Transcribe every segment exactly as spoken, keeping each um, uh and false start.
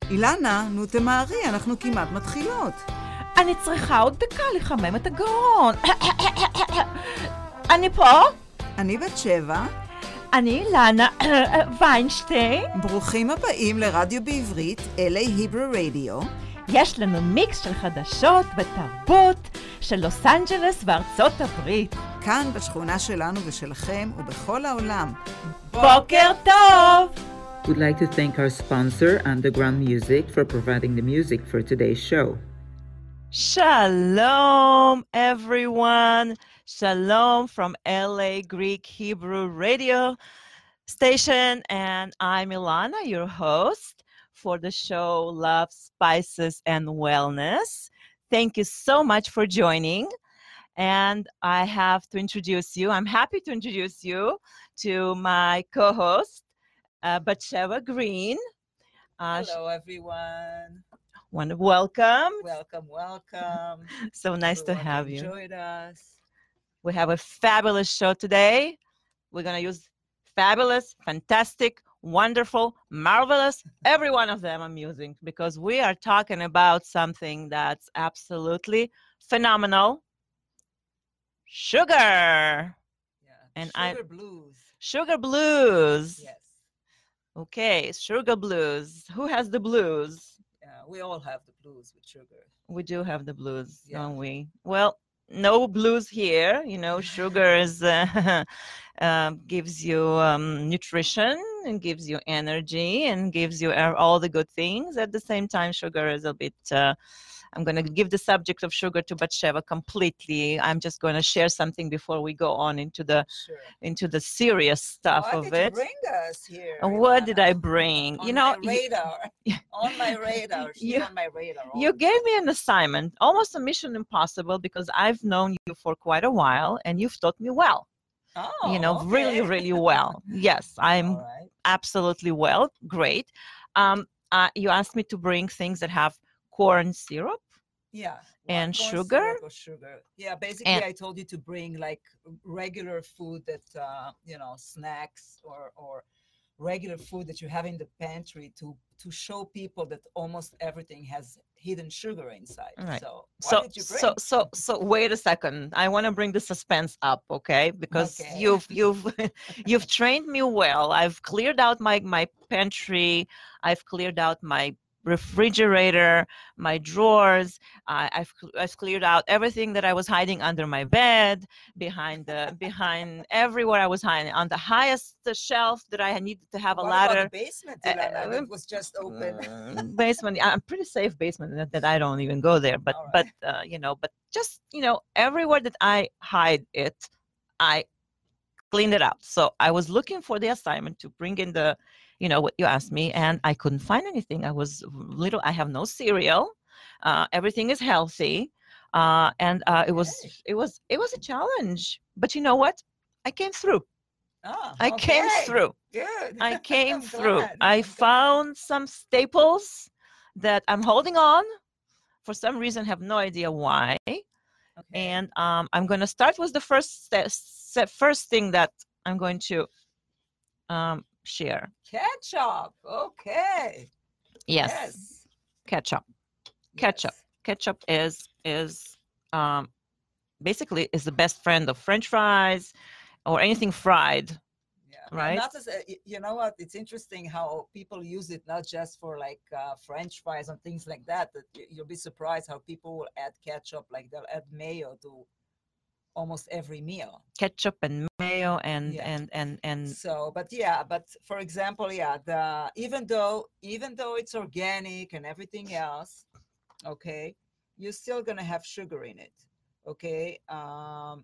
אילנה, נו תמהרי, אנחנו כמעט מתחילות. אני צריכה עוד דקה לחמם את הגרון. אני פה? אני בת שבע. אני אילנה ויינשטיין. ברוכים הבאים לרדיו בעברית, אל איי Hebrew Radio. יש לנו מיקס של חדשות ותרבות של לוס אנג'לס וארצות הברית. כאן בשכונה שלנו ושלכם ובכל העולם. בוקר טוב! We'd like to thank our sponsor, Underground Music, for providing the music for today's show. Shalom, everyone. Shalom from L A Greek Hebrew Radio Station. And I'm Ilana, your host for the show Love, Spices, and Wellness. Thank you so much for joining. And I have to introduce you. I'm happy to introduce you to my co-host, uh, Batsheva Green. Uh, Hello, everyone. Want to welcome. Welcome, welcome. So nice Everyone to have you. Enjoyed us. We have a fabulous show today. We're going to use fabulous, fantastic, wonderful, marvelous, every one of them I'm using because we are talking about something that's absolutely phenomenal. Sugar. Yeah. And sugar I, blues. Sugar blues. Yes. Okay, sugar blues. Who has the blues? Yeah, we all have the blues with sugar. We do have the blues, Yeah. don't we? Well, no blues here. You know, sugar is, uh, uh, gives you um, nutrition and gives you energy and gives you all the good things. At the same time, sugar is a bit... Uh, I'm going to give the subject of sugar to Batsheva completely. I'm just going to share something before we go on into the Sure. into the serious stuff what of did it. you bring us here? And what did I Ilana? bring? On you know, my radar. on my radar. She's you- on my radar. all you the gave time. me an assignment, almost a mission impossible, because I've known you for quite a while, and you've taught me well. Oh, you know, really, okay. really well. Yes, I'm All right. absolutely well. Great. Um, uh, you asked me to bring things that have corn syrup. Yeah. And corn sugar? syrup or sugar. Yeah, basically And- I told you to bring like regular food that, uh, you know, snacks or, or regular food that you have in the pantry to, to show people that almost everything has hidden sugar inside. All right. So what So, did you bring? so, so, so, wait a second. I want to bring the suspense up, okay? Because Okay. you've, you've, you've trained me well. I've cleared out my my pantry. I've cleared out my refrigerator, my drawers. I, I've cl- I've cleared out everything that I was hiding under my bed, behind the behind everywhere I was hiding, on the highest shelf that I needed to have a What ladder. about the basement, Uh, Ilana? uh, That was just open. Mm, basement. yeah, I'm pretty safe basement that, that I don't even go there. But All right. but uh, you know, but just you know, everywhere that I hide it, I cleaned it out. So I was looking for the assignment to bring in the, you know, what you asked me, and I couldn't find anything. I was little. I have no cereal. Uh, everything is healthy, uh, and uh, it was Okay. it was it was a challenge. But you know what? I came through. Ah, I came okay. through. Good. I came I'm through. glad. I I'm glad. found some staples that I'm holding on. For some reason, have no idea why. Okay. And um, I'm going to start with the first st- st- first thing that I'm going to um, share. Ketchup. Okay. Yes, Yes. ketchup. Ketchup. Yes. Ketchup is is um, basically is the best friend of French fries or anything fried. Yeah. Right? Not as a, y- you know what? It's interesting how people use it not just for like uh, French fries and things like that. That y- you'll be surprised how people will add ketchup, like they'll add mayo to almost every meal. Ketchup and mayo and Yeah. and and and So, but yeah, but for example, yeah, the even though even though it's organic and everything else, okay, you're still gonna have sugar in it. Okay. Um,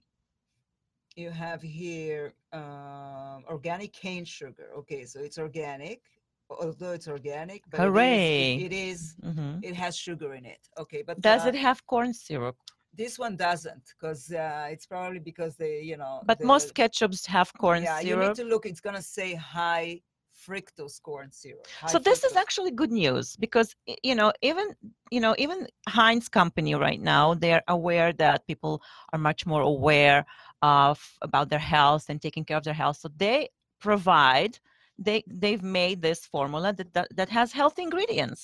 you have here um, organic cane sugar. Okay, so it's organic, although it's organic, but Hooray. it is, it, it is mhm. it has sugar in it. Okay, but Does uh, it have corn syrup? this one doesn't, because uh, it's probably because they, you know, But the, most ketchups have corn yeah, you syrup. need to look. It's gonna say high fructose corn syrup. So high this is fructose. actually good news because y- you know even you know even Heinz company right now, they're aware that people are much more aware of about their health and taking care of their health. So they provide they they've made this formula that that, that has healthy ingredients.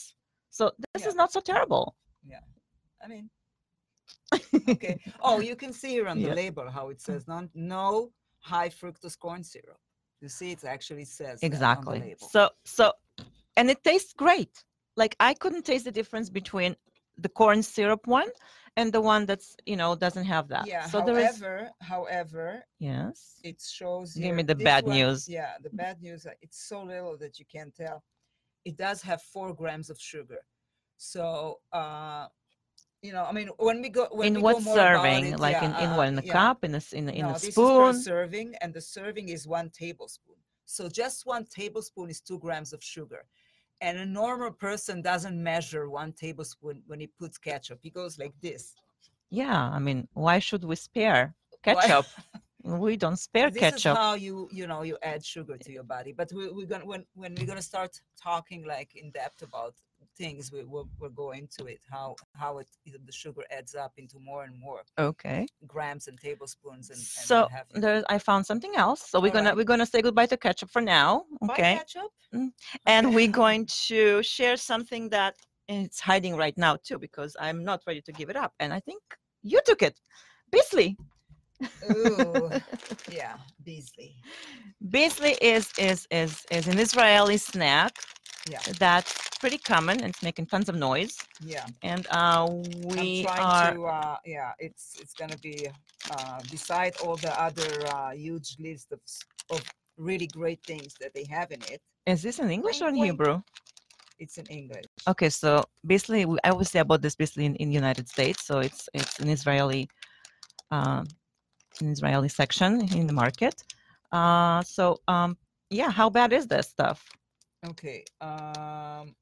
So this Yeah. is not so terrible. I mean, okay. Oh, you can see here on the Yeah. label how it says non, no high fructose corn syrup. You see, it actually says that on the Exactly. label. So so, and it tastes great. Like I couldn't taste the difference between the corn syrup one and the one that's, you know, doesn't have that. Yeah. So there is, however, however, yes. it shows Give here. me the this bad one- news. Yeah, the bad news. uh, It's so little that you can't tell. It does have four grams of sugar. So, uh, you know, I mean, when we go when In we what go more about serving? it, Like yeah, in, in uh, what? In a yeah. cup? In a, s- in a, in No, a this is spoon? per serving, and the serving is one tablespoon. So just one tablespoon is two grams of sugar. And a normal person doesn't measure one tablespoon when he puts ketchup. He goes like this. Yeah, I mean, why should we spare Why- ketchup? We don't spare this ketchup. is how you you know you add sugar to your body. But we, we're gonna when when we're gonna start talking like in depth about things, we will we'll go into it how how it the sugar adds up into more and more Okay. grams and tablespoons and, and So what have you. there, I found something else. So we're All gonna right. we're gonna say goodbye to ketchup for now. Buy Okay. ketchup. Mm. And Okay. we're going to share something that it's hiding right now too, because I'm not ready to give it up. And I think you took it. Beasley. Ooh, yeah, Beasley. Beasley is is is is an Israeli snack Yeah, that's pretty common and it's making tons of noise. yeah. And uh, I'm we trying are to. Uh, yeah, it's it's gonna be uh, beside all the other uh, huge list of s- of really great things that they have in it. is this in English or in Wink, wink. Hebrew? It's in English. Okay, so Beasley, we- I always say about this Beasley in, in the United States. So it's it's an Israeli um, an Israeli section in the market. Uh, so um, yeah, how bad is this stuff? Okay. Um,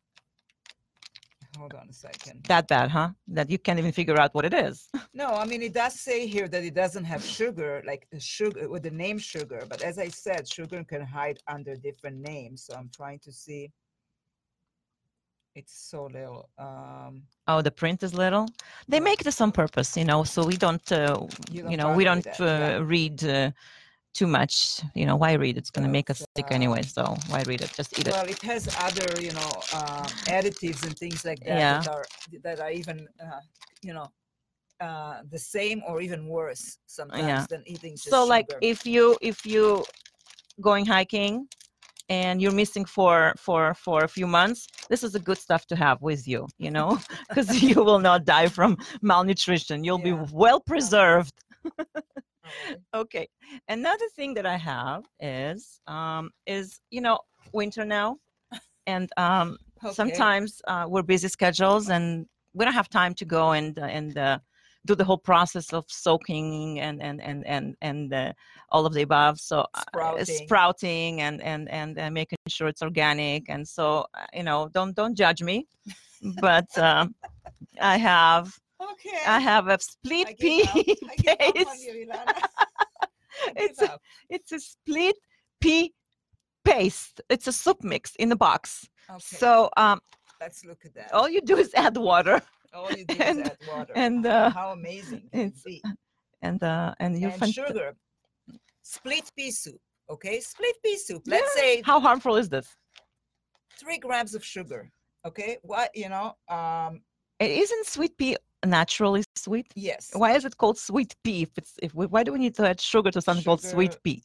hold on a second. That bad, huh? That you can't even figure out what it is. No, I mean it does say here that it doesn't have sugar, like the sugar with the name sugar. But as I said, sugar can hide under different names. So I'm trying to see. It's so little. Um, Oh, the print is little. They Yeah. make this on purpose, you know, so we don't, uh, You you, don't know, we bother with don't that, yeah. uh, read uh, too much. You know, why read? It's going to make us But, sick uh, anyway. So why read it? Just eat it. well, it has other, you know, um, additives and things like that Yeah. that are that are even, uh, you know, uh, the same or even worse sometimes Yeah. than eating just So like sugar. if you if you going hiking and you're missing for for for a few months, this is the good stuff to have with you, you know, because you will not die from malnutrition. You'll Yeah. be well preserved. Alright. Okay. Another thing that I have is um is you know winter now, and um Okay. sometimes uh, we're busy schedules and we don't have time to go and uh, and uh, do the whole process of soaking and and and and and uh, all of the above. So uh, Sprouting. sprouting and and and uh, making sure it's organic. And so uh, you know, don't don't judge me, but um, I have Okay. I have a split I pea give up. I give up on paste. you, Ilana. I It's give a- up. It's a split pea paste. It's a soup mix in the box. Okay. So um, let's look at that. all you do is add water, All you do and- is add water. and, how, uh, how amazing can it it's be? and uh, and you And find sugar. Split pea soup. Okay, split pea soup. Let's say how harmful is this? three grams of sugar. Okay, what you know? Um, It isn't sweet pea naturally sweet. yes. Why is it called sweet pea? If it's if we, why do we need to add sugar to something called sweet Sugar- pea?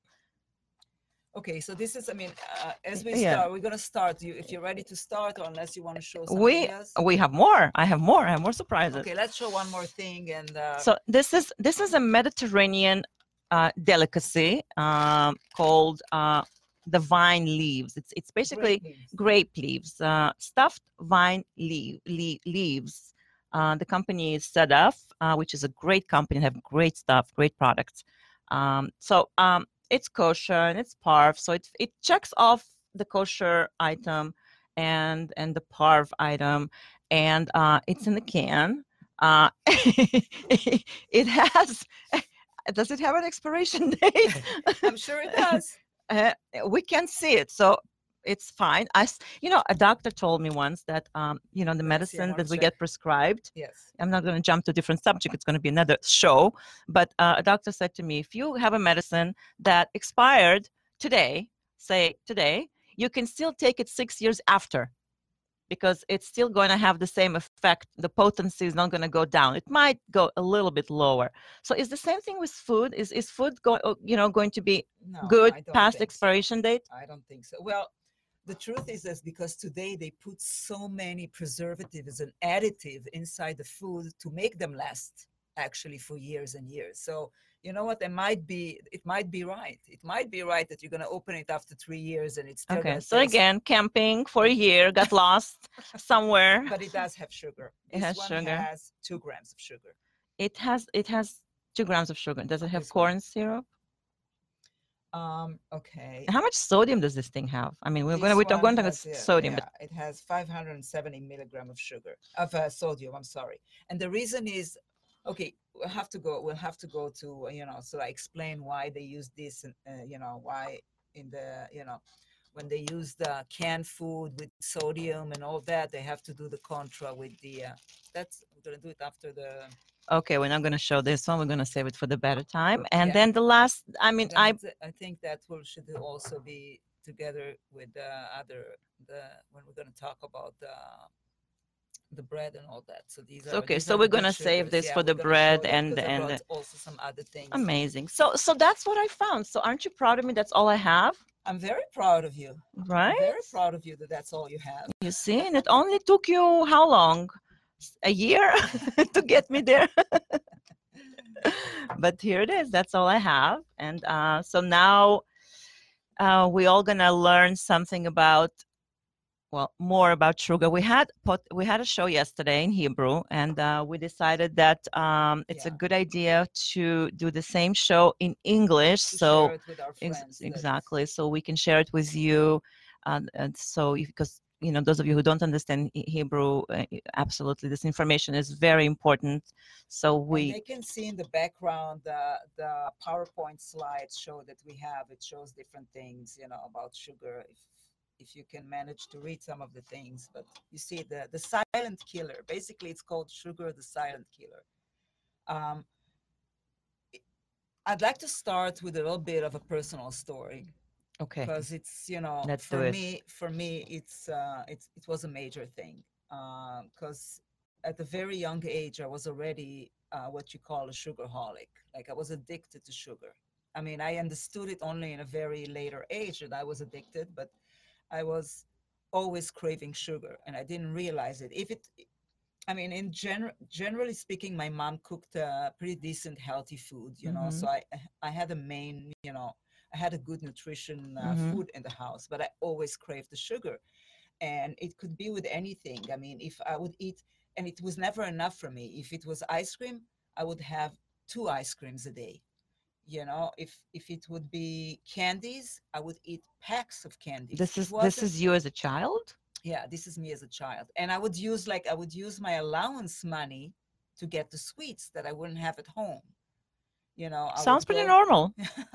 Okay, so this is. I mean, uh, as we Yeah. start, we're gonna start. You, if you're ready to start, or unless you want to show something We else. we have more. I have more. I have more surprises. Okay, let's show one more thing. And uh, So this is this is a Mediterranean uh, delicacy um, called uh, the vine leaves. It's it's basically grape leaves. grape leaves, uh, stuffed vine leaf, le- leaves. Uh, the company is Sedaf, uh, which is a great company, have great stuff, great products. Um, so um, it's kosher and it's parv, so it it checks off the kosher item and and the parv item, and uh, it's in the can. Uh, it has. Does it have an expiration date? I'm sure it does. uh, we can see it, so it's fine. I, s- you know, a doctor told me once that, um, you know, the Let me see, I medicine wanna that we check. get prescribed. Yes. I'm not going to jump to a different subject. It's going to be another show. But uh, a doctor said to me, if you have a medicine that expired today, say today, you can still take it six years after. because it's still going to have the same effect. The potency is not going to go down. It might go a little bit lower. So is the same thing with food? Is is food going, you know, going to be No, good I don't past think so. expiration date? I don't think so. Well, the truth is this, because today they put so many preservatives and additive inside the food to make them last actually for years and years. So you know what? It might be it might be right. It might be right that you're gonna open it after three years and it's still Okay, gonna so taste. again, camping for a year, got lost somewhere. But it does have sugar. It This has one sugar. has two grams of sugar. It has it has two grams of sugar. Does it have This one. corn syrup? Um, okay. How much sodium does this thing have? I mean, we're This going to we're one going to talk has, about yeah, sodium, yeah, it has five hundred seventy milligram of sugar of uh, sodium. I'm sorry, and the reason is, okay, we'll have to go. We'll have to go to uh, you know. So I explain why they use this, and uh, you know why in the you know when they use the canned food with sodium and all that, they have to do the contra with the. Uh, that's we're gonna do it after the. but okay, we're not going to show this one. We're going to save it for the better time. And Yeah. then the last, I mean, Then I it's- I think that will should also be together with the other the when we're going to talk about the the bread and all that. So these are okay. these So are we're the good going to save sugars. this Yeah, for we're the gonna show bread that and 'cause I and brought also some other things. amazing. So so that's what I found. So aren't you proud of me? That's all I have, I'm very proud of you. I'm right? very proud of you that that's all you have. You see, and it only took you how long? S- A year to get me there. But here it is. That's all I have. And uh, so now uh, we all gonna learn something about, well, more about sugar. We had pot, we had a show yesterday in Hebrew, and uh, we decided that um, it's a Yeah. good idea to do the same show in English. To So share it with our ex- friends. that- exactly, so we can share it with you, and, and so because you know those of you who don't understand He- Hebrew, uh, absolutely, this information is very important. So and we they can see in the background the the PowerPoint slides show that we have. It shows different things, you know, about sugar. If if you can manage to read some of the things, but you see the the silent killer. Basically, it's called sugar, the silent killer. Um, I'd like to start with a little bit of a personal story okay. because it's you know Let's for do it. me for me it's uh, it's it was a major thing because at a very young age I was already uh, what you call a sugarholic. Like I was addicted to sugar. I mean, I understood it only in a very later age that I was addicted, but I was always craving sugar and I didn't realize it. If it, I mean, in general, generally speaking, my mom cooked uh, pretty decent, healthy food, you know. Mhm. So I, I had a main, you know, I had a good nutrition uh, Mhm. food in the house, but I always craved the sugar, and it could be with anything. I mean, if I would eat, and it was never enough for me. If it was ice cream, I would have two ice creams a day. You know, if if it would be candies, I would eat packs of candies. This It is this wasn't- is you as a child. yeah, this is me as a child, and I would use like I would use my allowance money to get the sweets that I wouldn't have at home. You know, I Sounds would pretty go- normal.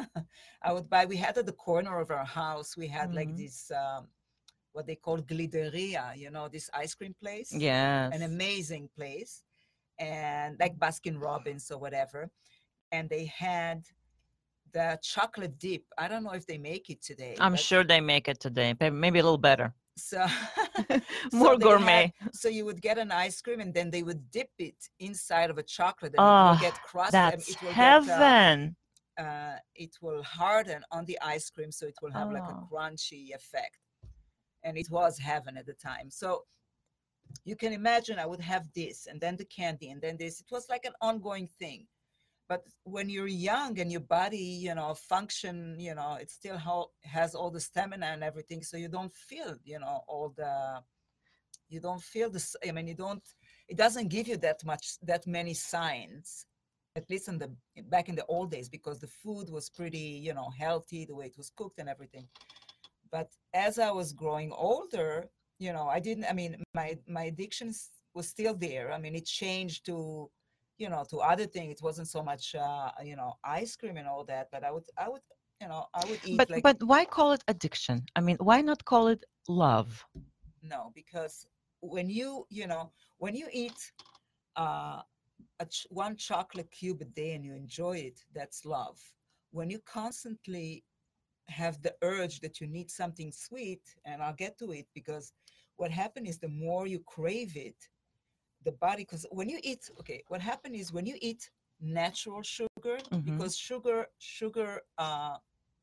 I would buy. We had at the corner of our house. We had like Mhm. this um, what they call glideria. You know, this ice cream place. Yes. An amazing place, and like Baskin Robbins or whatever. And they had the chocolate dip. I don't know if they make it today. I'm but- sure they make it today, but maybe a little better. So More so they gourmet. had- so you would get an ice cream and then they would dip it inside of a chocolate and it Oh, will get crusted. and that's it will get, uh, heaven. uh, it will harden on the ice cream, so it will have like a Oh. crunchy effect. And it was heaven at the time. So you can imagine I would have this and then the candy and then this. It was like an ongoing thing. But when you're young and your body, you know, function, you know, it still ha- has all the stamina and everything. So you don't feel, you know, all the, you don't feel this. I mean, you don't, it doesn't give you that much, that many signs, at least in the, back in the old days, because the food was pretty, you know, healthy, the way it was cooked and everything. But as I was growing older, you know, I didn't, I mean, my, my addictions was still there. I mean, it changed to, you know, to other things. It wasn't so much, uh, you know, ice cream and all that, but I would, I would, you know, I would eat But like, but why call it addiction? I mean, why not call it love? no, because when you, you know, when you eat uh, a ch- one chocolate cube a day and you enjoy it, that's love. When you constantly have the urge that you need something sweet, and I'll get to it because what happened is the more you crave it, the body, because when you eat, okay, what happened is when you eat natural sugar, Mhm. because sugar, sugar uh,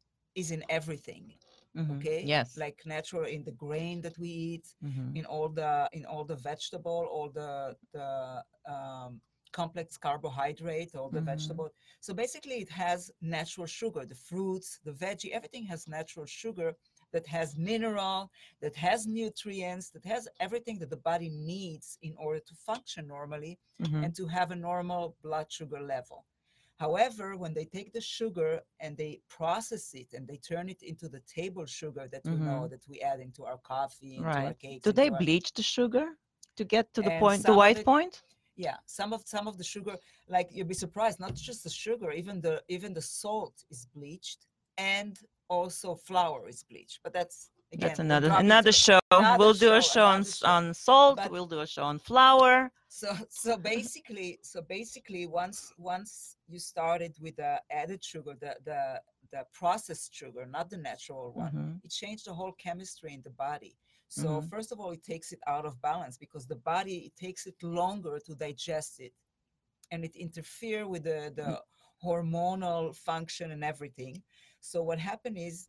is in everything, Mhm. okay? Yes. Like natural in the grain that we eat, Mhm. in all the in all the vegetable, all the the um, complex carbohydrate, all the Mhm. vegetable. So basically, it has natural sugar. The fruits, the veggie, everything has natural sugar that has mineral, that has nutrients, that has everything that the body needs in order to function normally Mhm. and to have a normal blood sugar level. However, when they take the sugar and they process it and they turn it into the table sugar that we know Mhm. that we add into our coffee, into our Right. cakes, Do they into our, bleach the sugar to get to the and point, the some of white it, point? yeah, some of some of the sugar, like you'll be surprised, not just the sugar, even the even the salt is bleached, and also flour is bleached. But that's That's again, we'll another drop another into show. another We'll do a show, show on another s- show. on salt. But We'll do a show on flour. so so basically, so basically, once once you started with the added sugar, the the the processed sugar, not the natural one, Mhm. it changed the whole chemistry in the body. So Mhm. first of all, it takes it out of balance because the body, it takes it longer to digest it, and it interfere with the Mm. the hormonal function and everything. So what happened is,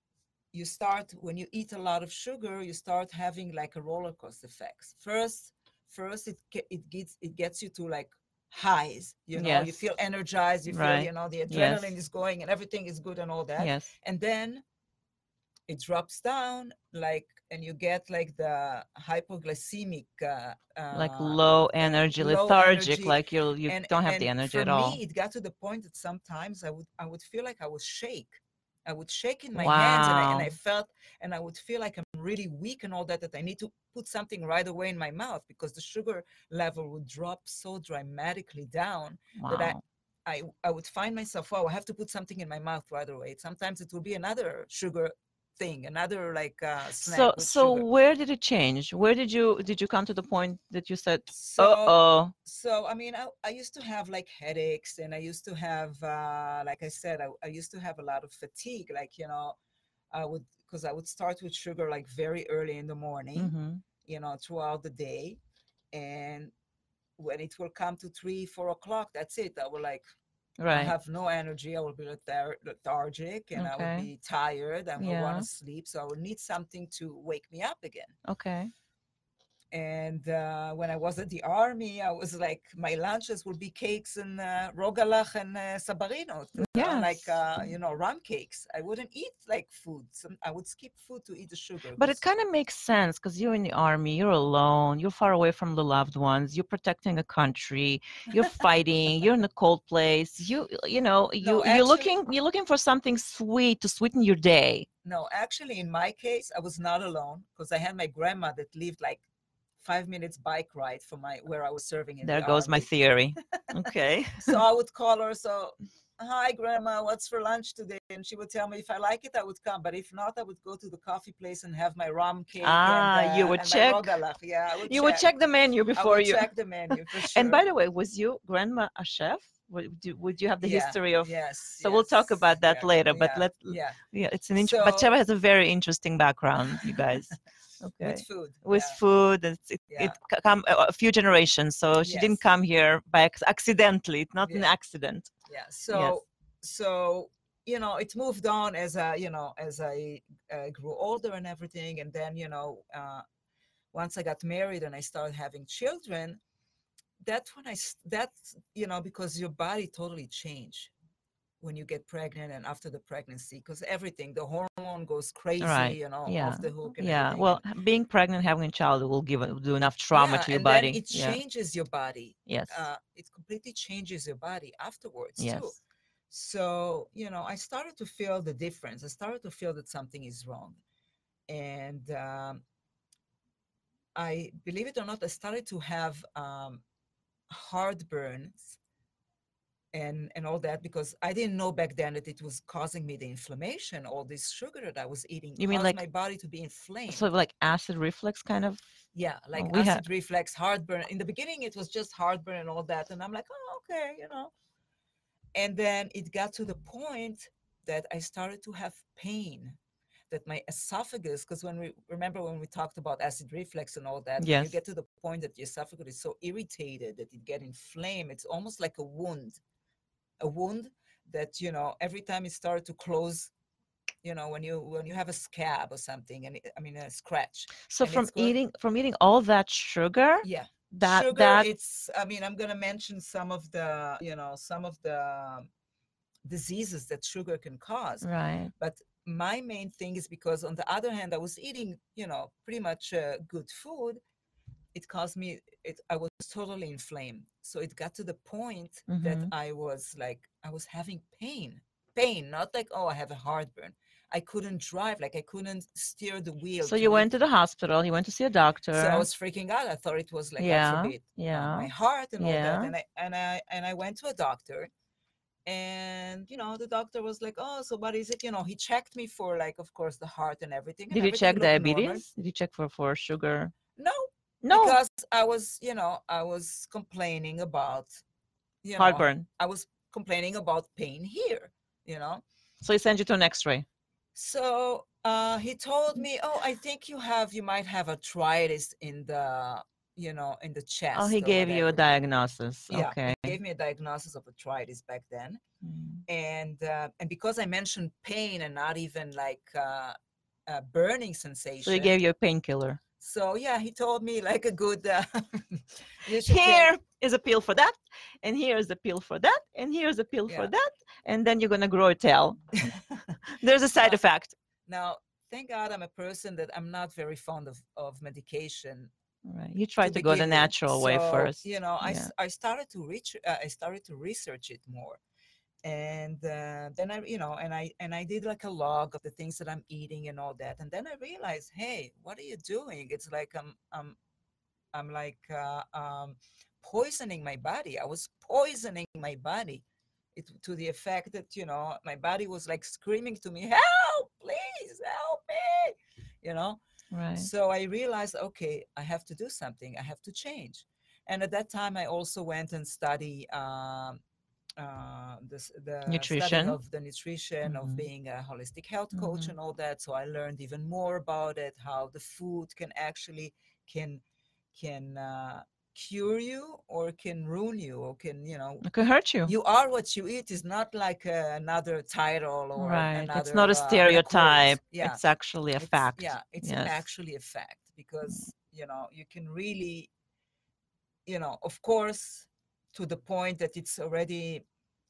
you start, when you eat a lot of sugar, you start having like a roller coaster effects. First, first it ge- it gets it gets you to like highs, you know, you Yes. feel energized, you feel, Right. you know, the Yes. adrenaline is going and everything is good and all that. Yes. And then it drops down, like, and you get like the hypoglycemic uh, Like uh, low uh, energy, low lethargic, energy. like you you and don't have the and energy for at all. me, it got to the point that sometimes i would i would feel like I was shake. I would shake in my hands, and I, and Wow. I felt, and I would feel like I'm really weak and all that, that I need to put something right away in my mouth, because the sugar level would drop so dramatically down that I, Wow. I, I would find myself, oh, I have to put something in my mouth right away. Sometimes it will be another sugar thing, another like uh, snack So with so sugar. where did it change? Where did you did you come to the point that you said, So "Uh-oh." so I mean, I, I used to have like headaches, and I used to have uh, like I said, I, I used to have a lot of fatigue. Like, you know, I would, because I would start with sugar like very early in the morning, Mhm. you know, throughout the day, and when it will come to three, four o'clock, that's it. I will like, I Right. have no energy. I will be lethar- lethargic, and I would Okay. be tired. I will want Yeah. to sleep, so I would need something to wake me up again. Okay. And uh, when I was at the army, I was like, my lunches would be cakes and uh, rogalach and uh, sabarinot, you know, like, Yes. uh, you know, rum cakes. I wouldn't eat like food. Some, I would skip food to eat the sugar. But it 'cause- kind of makes sense because you're in the army, you're alone, you're far away from the loved ones, you're protecting a country, you're fighting, you're in a cold place. You you know, you No, you're actually, looking you're looking for something sweet to sweeten your day. no, actually, in my case, I was not alone, because I had my grandma that lived like five minutes bike ride from my where I was serving in There the goes my army. theory. Okay. So I would call her, so, hi, grandma, what's for lunch today? And she would tell me if I like it, I would come. But if not, I would go to the coffee place and have my rum cake and Ah, you uh, would and check. my rogalach. Yeah, I would You would check. check the menu I before would you. check the menu for And sure. by the way, was you grandma a chef? Would you, would you have the Yeah. history of? Yes. So we'll talk yes, about that yeah, later. But yeah, let yeah. yeah, it's an int- So Batsheva has a very interesting background, you guys. with Okay. food. With Yeah. food, it's, it Yeah. it c- come a a few generations. So she didn't Yes. come here by ac- accidentally. It's not an Yeah. accident. Yeah. Yes. So so you know, it moved on as I, you know, as I uh, grew older and everything, and then, you know, uh, once I got married and I started having children, that's when I s- that's, you know, because your body totally changed when you get pregnant and after the pregnancy, because everything, the hormone goes crazy, Right. you know, Yeah. off the hook and Yeah. everything. Well, And h- being pregnant, having a child will give a- do enough trauma yeah, to your and then body. it Yeah. changes your body. Yes. Uh, it completely changes your body afterwards too. Yes. So, you know, I started to feel the difference. I started to feel that something is wrong. And um, I, believe it or not, I started to have um, heartburns and and all that, because I didn't know back then that it was causing me the inflammation. All this sugar that I was eating You mean caused like my body to be inflamed. sort of like acid reflux kind of? Yeah, like we had acid reflux, heartburn. In the beginning, it was just heartburn and all that, and I'm like, oh, okay, you know. And then it got to the point that I started to have pain. that my esophagus, because when we remember when we talked about acid reflux and all that, when Yes. you get to the point that the esophagus is so irritated that it get inflamed, it's almost like a wound, a wound that, you know, every time it started to close, you know, when you when you have a scab or something, and it, I mean a scratch. So and from it's going- eating from eating all that sugar, Yeah. that Sugar, that it's, I mean, I'm gonna mention some of the, you know, some of the diseases that sugar can cause. right. But my main thing is because on the other hand, I was eating, you know, pretty much uh, good food. It caused me, it, I was totally inflamed. So it got to the point that Mhm. I was like, I was having pain, pain, not like, oh, I have a heartburn. I couldn't drive, like I couldn't steer the wheel. So to you make- went to the hospital. You went to see a doctor. so I was freaking out. I thought it was like, God Yeah, forbid, uh, yeah, my heart and all that. yeah. And I and I and I went to a doctor, and you know, the doctor was like, "Oh, so what is it?" You know, he checked me for, like, of course, the heart and everything. And Did you everything check looked normal. diabetes? Did you check for for sugar? No, No, because I was, you know, I was complaining about, you know, heartburn. I was complaining about pain here, you know. So he sent you to an X-ray. So uh, he told me, "Oh, I think you have, you might have arthritis in the, you know, in the chest." Oh, he or gave you a whatever." diagnosis. Yeah, Okay. he gave me a diagnosis of arthritis back then. Mm. And uh, and because I mentioned pain and not even like uh, a burning sensation. So he gave you a painkiller. So yeah, he told me like a good. Uh, you should Here take- is a pill for that, and here is a pill for that, and here's a pill Yeah. for that, and then you're gonna grow a tail. There's a side Uh, effect. Now, thank God I'm a person that I'm not very fond of, of medication. Right. You try to, to go the begin with. natural way So, first. You know, I, Yeah. s- I started to reach, uh, I started to research it more. And uh, then I, you know, and I and I did like a log of the things that I'm eating and all that. And then I realized, hey, what are you doing? It's like I'm I'm I'm like uh, um, poisoning my body. I was poisoning my body, it, to the effect that, you know, my body was like screaming to me, "Help! Please help me!" You know. Right. So I realized, okay, I have to do something. I have to change. And at that time, I also went and studied um, uh, this, the studying Nutrition. of the nutrition, Mhm. of being a holistic health coach Mhm. and all that. So I learned even more about it, how the food can actually can can uh, cure you or can ruin you or can, you know, It could hurt you. you are what you eat is not like uh, another title or Right. another. It's not a uh, quote. stereotype. Yeah. It's actually a It's- fact. Yeah, it's Yes. actually a fact because, you know, you can really, you know, of course, to the point that it's already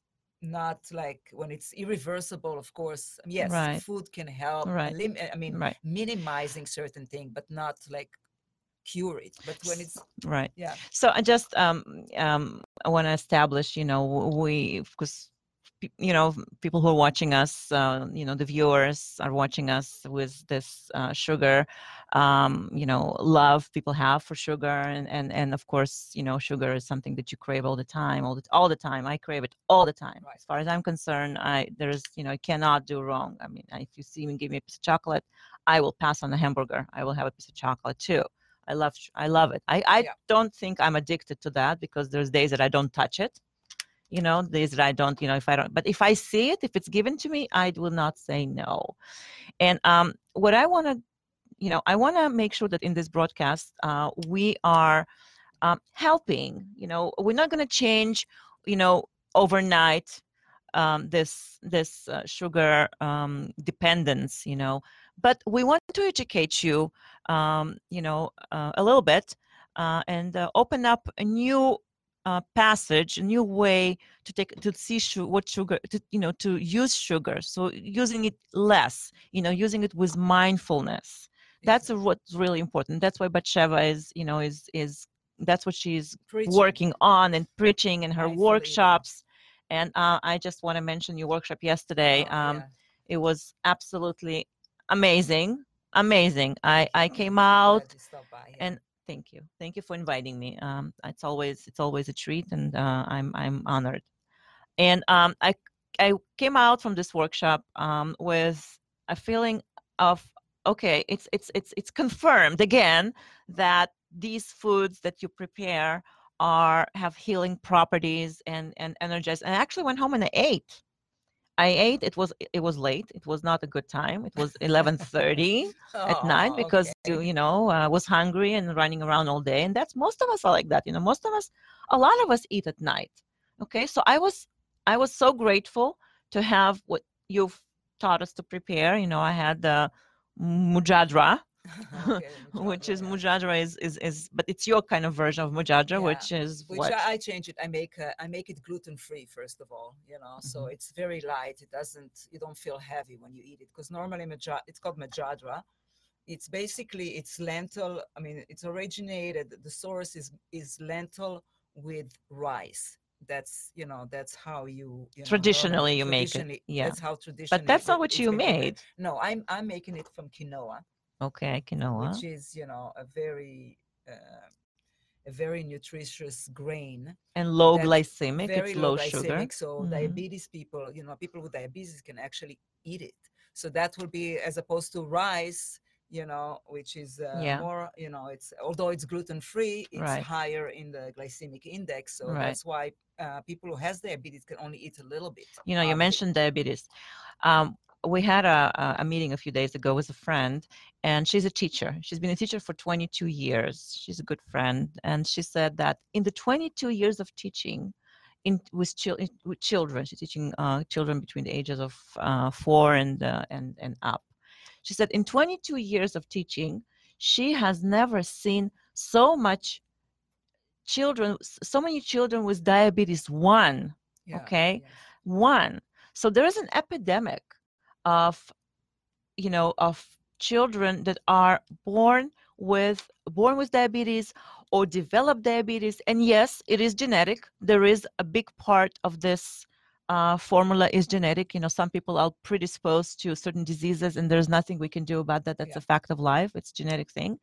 not like when it's irreversible, of course, yes, Right. food can help. Right. elim- I mean, Right. minimizing certain thing, but not like cure it. But when it's, Right. yeah, So I just um um I want to establish, you know, we because you know people who are watching us, uh, you know, the viewers are watching us with this uh, sugar, um, you know, love people have for sugar, and and and of course, you know, sugar is something that you crave all the time, all the all the time. I crave it all the time. Right. As far as I'm concerned, I there's you know I cannot do wrong. I mean, if you see me give me a piece of chocolate, I will pass on a hamburger. I will have a piece of chocolate too. I love I love it. I, I Yeah. don't think I'm addicted to that because there's days that I don't touch it. You know, days that I don't, you know, if I don't, but if I see it, if it's given to me, I will not say no. And um, what I want to, you know, I want to make sure that in this broadcast, uh, we are um, helping, you know, we're not going to change, you know, overnight um, this this uh, sugar um, dependence, you know, but we want to educate you, um, you know, uh, a little bit uh, and uh, open up a new uh, passage, a new way to take to see su- what sugar, to, you know, to use sugar. So using it less, you know, using it with mindfulness. That's exactly. what's really important. That's why Batsheva is, you know, is is that's what she's Preaching. working on and preaching in her Mindful eating. workshops. And uh, I just want to mention your workshop yesterday. Oh, um, yeah. It was absolutely amazing, amazing. I, I came Glad out you stopped by, yeah. and thank you, thank you for inviting me. Um, it's always it's always a treat, and uh, I'm I'm honored. And um, I I came out from this workshop um, with a feeling of okay, it's it's it's it's confirmed again that these foods that you prepare are have healing properties and and energize. And I actually went home and I ate. I ate. It was it was late. It was not a good time. It was eleven thirty at night Oh, because you okay. you know I was hungry and running around all day. And that's most of us are like that. You know, most of us, a lot of us eat at night. Okay, so I was I was so grateful to have what you've taught us to prepare. You know, I had the mujadra, Okay, which mujadra, is yeah. mujadra is, is is but it's your kind of version of mujadra, Yeah, which is which what. I, I change it. I make uh, I make it gluten free first of all, you know. So Mhm. it's very light. It doesn't you don't feel heavy when you eat it because normally maja, it's called majadra. It's basically it's lentil. I mean, it's originated. The source is is lentil with rice. That's you know that's how you you know normally Traditionally you make it, traditionally yeah. that's how But traditionally that's not it, what it's you been prepared. made. No, I'm I'm making it from quinoa, Okay, quinoa. which is you know a very uh, a very nutritious grain And low that glycemic, very it's low low sugar. glycemic. So Hmm. diabetes people, you know, people with diabetes can actually eat it. So that will be as opposed to rice, you know, which is uh, Yeah, more, you know, it's although it's gluten free, it's right, higher in the glycemic index. So right. that's why uh, people who has diabetes can only eat a little bit You know, you of it. mentioned diabetes. Um, we had a, a a meeting a few days ago with a friend, and she's a teacher. She's been a teacher for twenty-two years. She's a good friend, and she said that in the twenty-two years of teaching, in with, chil- with children, she's teaching uh, children between the ages of uh, four and uh, and and up. She said in twenty-two years of teaching, she has never seen so much children, s- so many children with diabetes one. Yeah. Okay, Yes. one. So there is an epidemic of you know of children that are born with born with diabetes or develop diabetes. And yes, it is genetic. There is a big part of this uh, formula is genetic. You know, some people are predisposed to certain diseases, and there's nothing we can do about that. That's Yeah. a fact of life. It's a genetic thing.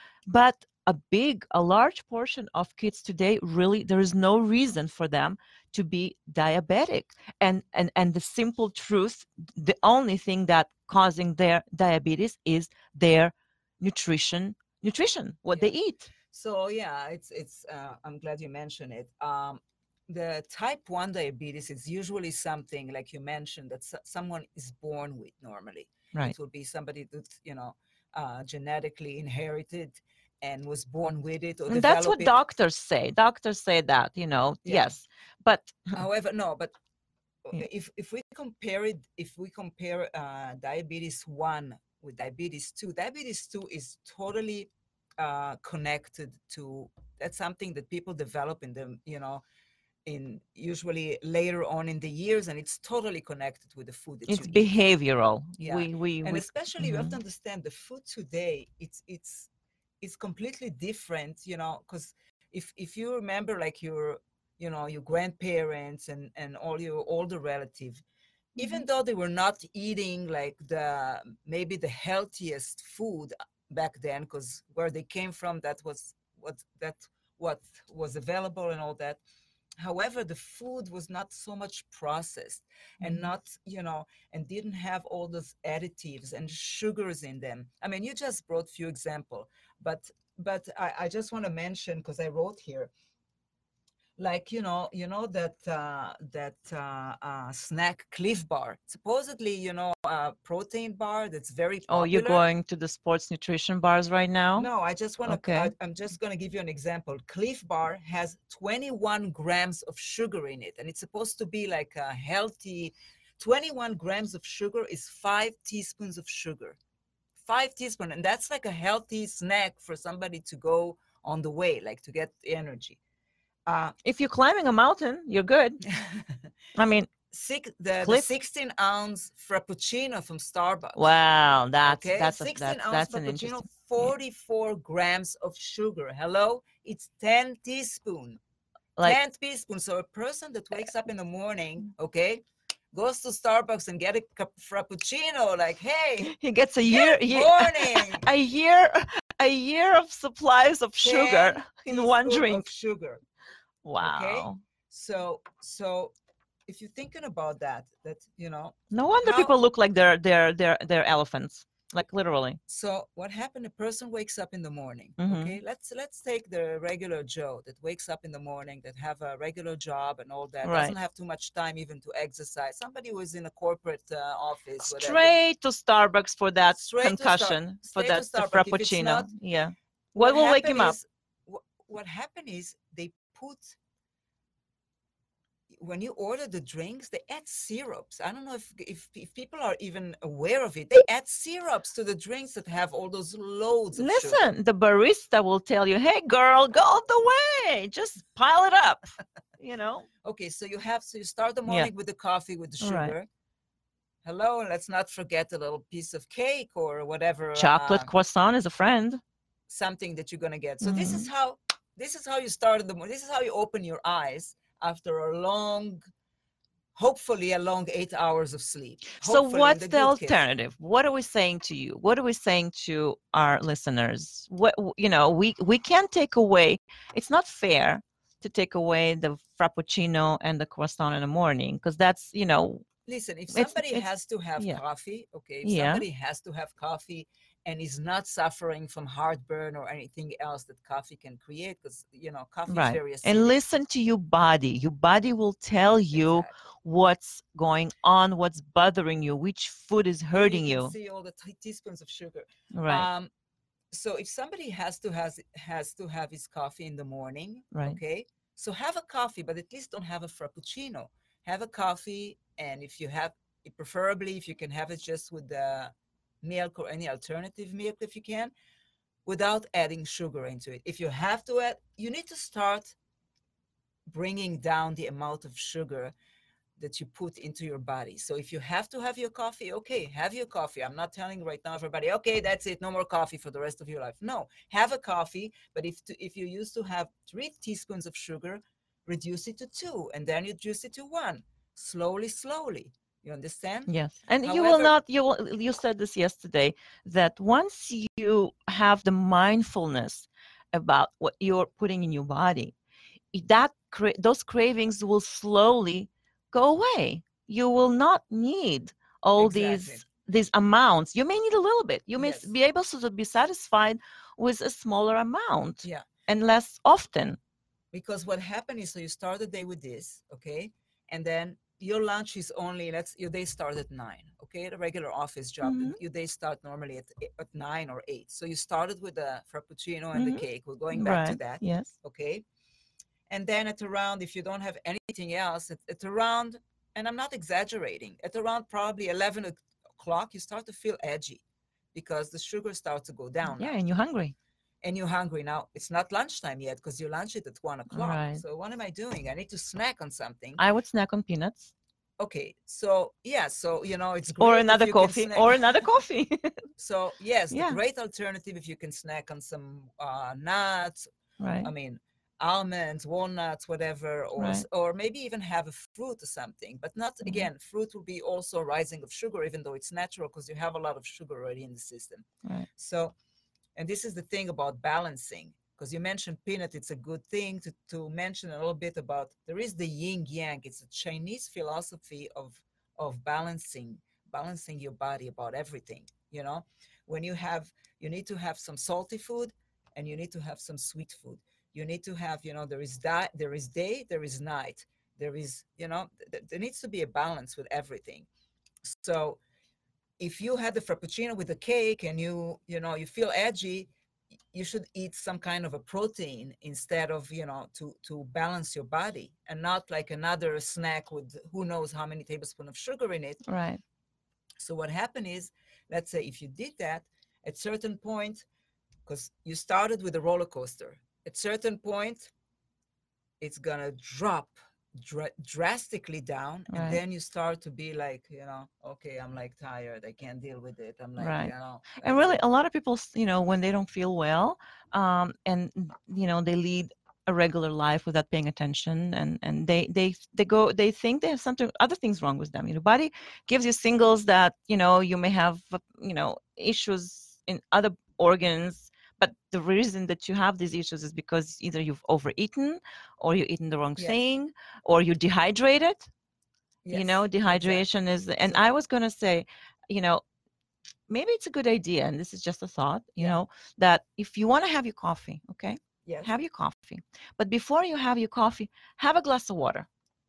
But a big, a large portion of kids today, really, there is no reason for them to be diabetic. And and and the simple truth, the only thing that causing their diabetes is their nutrition, nutrition, what they Yeah. eat. So yeah, it's it's. Uh, I'm glad you mentioned it. Um, the type one diabetes is usually something like you mentioned that s- someone is born with. Normally, Right. it will be somebody that's you know uh, genetically inherited and was born with it or And that's develop what it. doctors say. Doctors say that, you know, Yeah. yes. But However, no, but uh, yeah, if if we compare it, if we compare uh, diabetes one with diabetes two, diabetes two is totally uh, connected to that's something that people develop in them, you know, in usually later on in the years, and it's totally connected with the food that you it's eat. behavioral. Yeah, We we and we especially you have to mhm. understand the food today. It's it's it's completely different, you know, because if if you remember like your you know your grandparents and and all your older relatives, even Mhm. though they were not eating like the maybe the healthiest food back then because where they came from that was what that what was available and all that. However, the food was not so much processed and Mhm. not you know and didn't have all those additives and sugars in them. I mean, you just brought few example, but but i, I just want to mention because I wrote here like you know you know that uh, that uh, uh, snack Cliff Bar, supposedly you know a protein bar that's very Oh, you're popular. going to the sports nutrition bars right now? No, I just want to Okay. I'm just going to give you an example. Cliff Bar has twenty-one grams of sugar in it, and it's supposed to be like a healthy. twenty-one grams of sugar is five teaspoons of sugar, five teaspoons, and that's like a healthy snack for somebody to go on the way, like to get energy. uh If you're climbing a mountain, you're good. I mean, six the the Cliff. sixteen ounce frappuccino from Starbucks. Wow, that's Okay, that's a sixteen that's ounce that's an frappuccino, interesting. Yeah. forty-four grams of sugar. Hello, it's ten teaspoon, Like ten teaspoons. So a person that wakes up in the morning, okay, goes to Starbucks and get a cup frappuccino, like, hey, he gets a year, good year morning. a year a year of supplies of sugar ten in one teaspoon of drink. sugar. Okay, Wow. so so if you're thinking about that, that you know No wonder how people look like they're they're they're they're elephants. like literally. So what happened? A person wakes up in the morning. Mhm. Okay, let's let's take the regular Joe that wakes up in the morning, that have a regular job and all that, Right. doesn't have too much time even to exercise. Somebody who is in a corporate uh, office, whatever. Straight to Starbucks for that Straight to Star- concussion, for straight to that the Starbucks. If it's frappuccino. not- Yeah. What will wake happened him up? is- wh- what happened is they put, when you order the drinks, they add syrups. I don't know if, if if people are even aware of it. They add syrups to the drinks that have all those loads of sugar. Listen, the barista will tell you, "Hey, girl, go all the way. Just pile it up." You know. Okay, so you have so you start the Yeah. morning with the coffee with the Right. sugar. Hello, and let's not forget a little piece of cake or whatever. Chocolate uh, croissant is a friend. something that you're gonna get. So this Mm-hmm. is how this is how you start in the morning. This is how you open your eyes after a long, hopefully a long eight hours of sleep. So Hopefully in what's the, good case. alternative? What are we saying to you? What are we saying to our listeners? What you know, we we can't take away. It's not fair to take away the frappuccino and the croissant in the morning because that's you know Listen, if It's- somebody it's- has to have yeah. coffee, okay, if Yeah. somebody has to have coffee and is not suffering from heartburn or anything else that coffee can create, because you know, coffee is right. very acidic. And listen to your body. Your body will tell you Exactly. what's going on, what's bothering you, which food is hurting you. you. Can see all the t- teaspoons of sugar. Right. Um, so if somebody has to has has to have his coffee in the morning, Right. okay, so have a coffee, but at least don't have a frappuccino. Have a coffee, and if you have, preferably if you can have it just with the milk or any alternative milk if you can, without adding sugar into it. If you have to add, you need to start bringing down the amount of sugar that you put into your body. So if you have to have your coffee, okay, have your coffee. I'm not telling right now everybody, okay, that's it, no more coffee for the rest of your life. No, have a coffee, but if to, if you used to have three teaspoons of sugar, reduce it to two, and then you reduce it to one, slowly, slowly. You understand? Yes. And you will However- not, you will, you said this yesterday, that once you have the mindfulness about what you're putting in your body, that cra- those cravings will slowly go away. You will not need all Exactly. these these amounts. You may need a little bit. You may s- Yes. be able to be satisfied with a smaller amount Yeah. and less often. Because what happened is, so you start the day with this, okay, and then your lunch is only, let's, your day start at nine, okay, the regular office job, Mhm. your day start normally at e- at nine or eight. So you started with the frappuccino and Mhm. the cake. We're going back to Right. that, Yes. okay, and then at around, if you don't have anything else, at, at around, and I'm not exaggerating, at around probably eleven o'clock, you start to feel edgy because the sugar starts to go down. Yeah, now. and you're hungry. And you're hungry now. It's not lunchtime yet because you lunch it at one o'clock. Right. So what am I doing? I need to snack on something. I would snack on peanuts Okay, so yeah, so you know, it's great or if another you can coffee snack- or another coffee. So yes, Yeah. the great alternative if you can snack on some uh, nuts. Right. I mean, almonds, walnuts, whatever, or s- Right. or maybe even have a fruit or something. But not Mhm. again, fruit will be also rising of sugar, even though it's natural because you have a lot of sugar already in the system. Right. So, and this is the thing about balancing, because you mentioned peanut, it's a good thing to, to mention a little bit about, there is the yin yang. It's a Chinese philosophy of, of balancing, balancing your body about everything, you know, when you have, you need to have some salty food and you need to have some sweet food. You need to have, you know, there is that, there is day, there is night, there is, you know, th- there needs to be a balance with everything. So if you had the frappuccino with the cake and you you know you feel edgy, y- you should eat some kind of a protein instead of, you know, to to balance your body, and not like another snack with who knows how many tablespoons of sugar in it. Right. So what happened is, let's say if you did that at certain point, because you started with a roller coaster, at certain point it's gonna drop dra- drastically down, Right. and then you start to be like, you know, okay, I'm like tired, I can't deal with it, I'm like, Right. you know, And that's really, it. a lot of people, s- you know, when they don't feel well, um, and you know, they lead a regular life without paying attention, and and they they they go, they think they have something, other things wrong with them. You know, body gives you signals that you know you may have, uh, you know, issues in other organs. But the reason that you have these issues is because either you've overeaten, or you're eating the wrong Yes. thing, or you're dehydrated. You Yes, know, exactly. dehydration is, and So- I was gonna say, you know, maybe it's a good idea, and this is just a thought, you Yeah. know, that if you want to have your coffee, okay, Yes. have your coffee. But before you have your coffee, have a glass of water.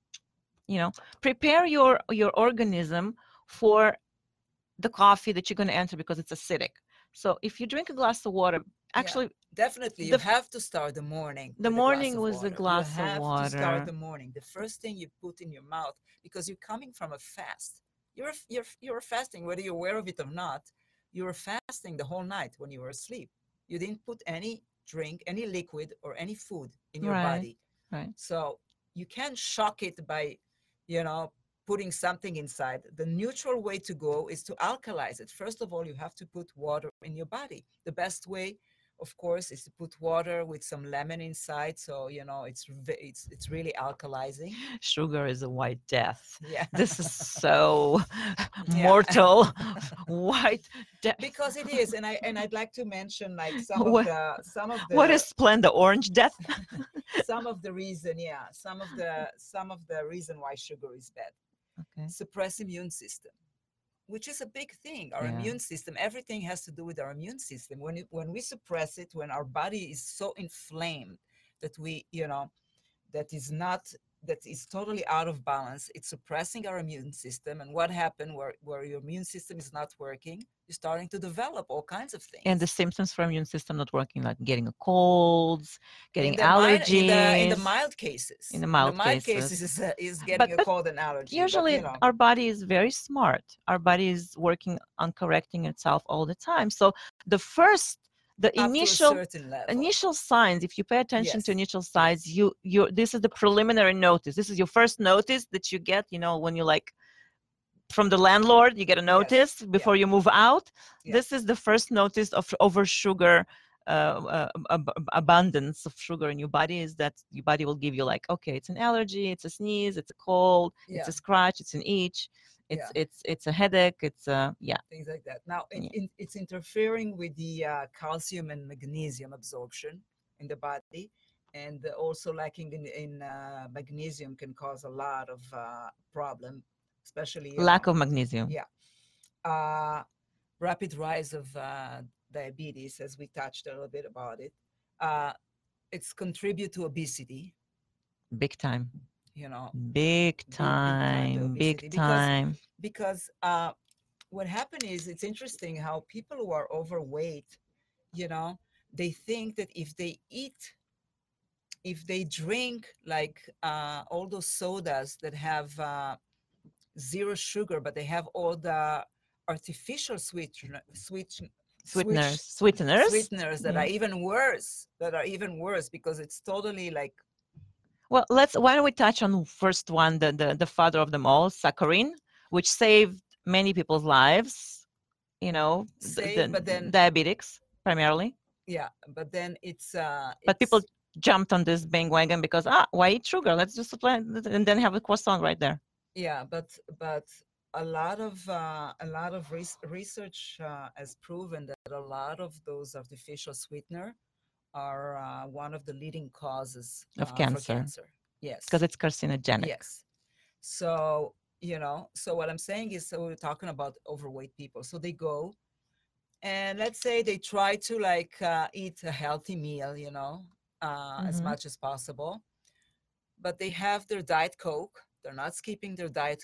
You know, prepare your your organism for the coffee that you're going to enter because it's acidic. So if you drink a glass of water, actually, Definitely, you the f- have to start the morning. the with a glass morning of was a water. glass of You have to water. start the morning. The first thing you put in your mouth, because you're coming from a fast. You're f- you're f- you're fasting, whether you're aware of it or not. You were fasting the whole night when you were asleep. You didn't put any drink, any liquid, or any food in your Right. body. Right. So you can't shock it by, you know, putting something inside. The neutral way to go is to alkalize it. First of all, you have to put water in your body. The best way, of course, is to put water with some lemon inside. So, you know, it's ve- it's it's really alkalizing. Sugar is a white death. Yeah. This is so Yeah. mortal. White death. Because it is, and I and I'd like to mention like some What- of the some of the What is Splenda? Orange death? some of the reason, yeah, some of the some of the reason why sugar is bad. Okay. Suppress immune system, which is a big thing. Our Yeah. immune system, everything has to do with our immune system. When it, when we suppress it, when our body is so inflamed that we, you know, that is not that is totally out of balance, it's suppressing our immune system. And what happened where, where your immune system is not working, you're starting to develop all kinds of things. And the symptoms from immune system not working, like getting a colds, getting in the mild, allergies. in the in the mild cases, In the mild cases, cases. is, uh, is getting But- a but cold and allergy. Usually, but, you know, our body is very smart. Our body is working on correcting itself all the time. So the first, the up to a initial certain level. initial signs, if you pay attention to Yes. initial signs, you you this is the preliminary notice. This is your first notice that you get, you know, when you like from the landlord, you get a Yes. notice before you move out. Yeah. This is the first notice of over sugar uh, uh, ab- ab- abundance of sugar in your body, is that your body will give you like, okay, it's an allergy, it's a sneeze, it's a cold, it's Yeah. a scratch, it's an itch, it's it's it's a headache, it's a yeah. Things like that. Now, it, Yeah. in, it's interfering with the uh, calcium and magnesium absorption in the body, and also lacking in, in uh, magnesium can cause a lot of uh, problem, especially you Lack know, of magnesium. yeah. Uh, rapid rise of uh, diabetes, as we touched a little bit about it. Uh, it's contribute to obesity. Big time. You know, Big big time to time. Big obesity, because- time. because uh, what happened is it's interesting how people who are overweight, you know, they think that if they eat, if they drink like uh, all those sodas that have uh, zero sugar, but they have all the artificial sweetener, sweet, Sweeteners. switch- Sweeteners. sweeteners that Yeah. are even worse, that are even worse because it's totally like, Well, let's. Why don't we touch on first one, the the, the father of them all, saccharin, which saved many people's lives. You know, the- Saved, the, but then- diabetics primarily. yeah, but then it's uh But people it's- jumped on this bandwagon because ah, why eat sugar? Let's just supply and then have a croissant right there. yeah, but but a lot of uh, a lot of res- research uh, has proven that a lot of those artificial sweetener are uh, one of the leading causes Of uh, cancer. for cancer. Yes, Because it's carcinogenic. yes. So you know, so what I'm saying is, so we're talking about overweight people. So they go, and let's say they try to like uh, eat a healthy meal, you know, uh, as Mhm. much as possible, but they have their diet Coke. They're not skipping their diet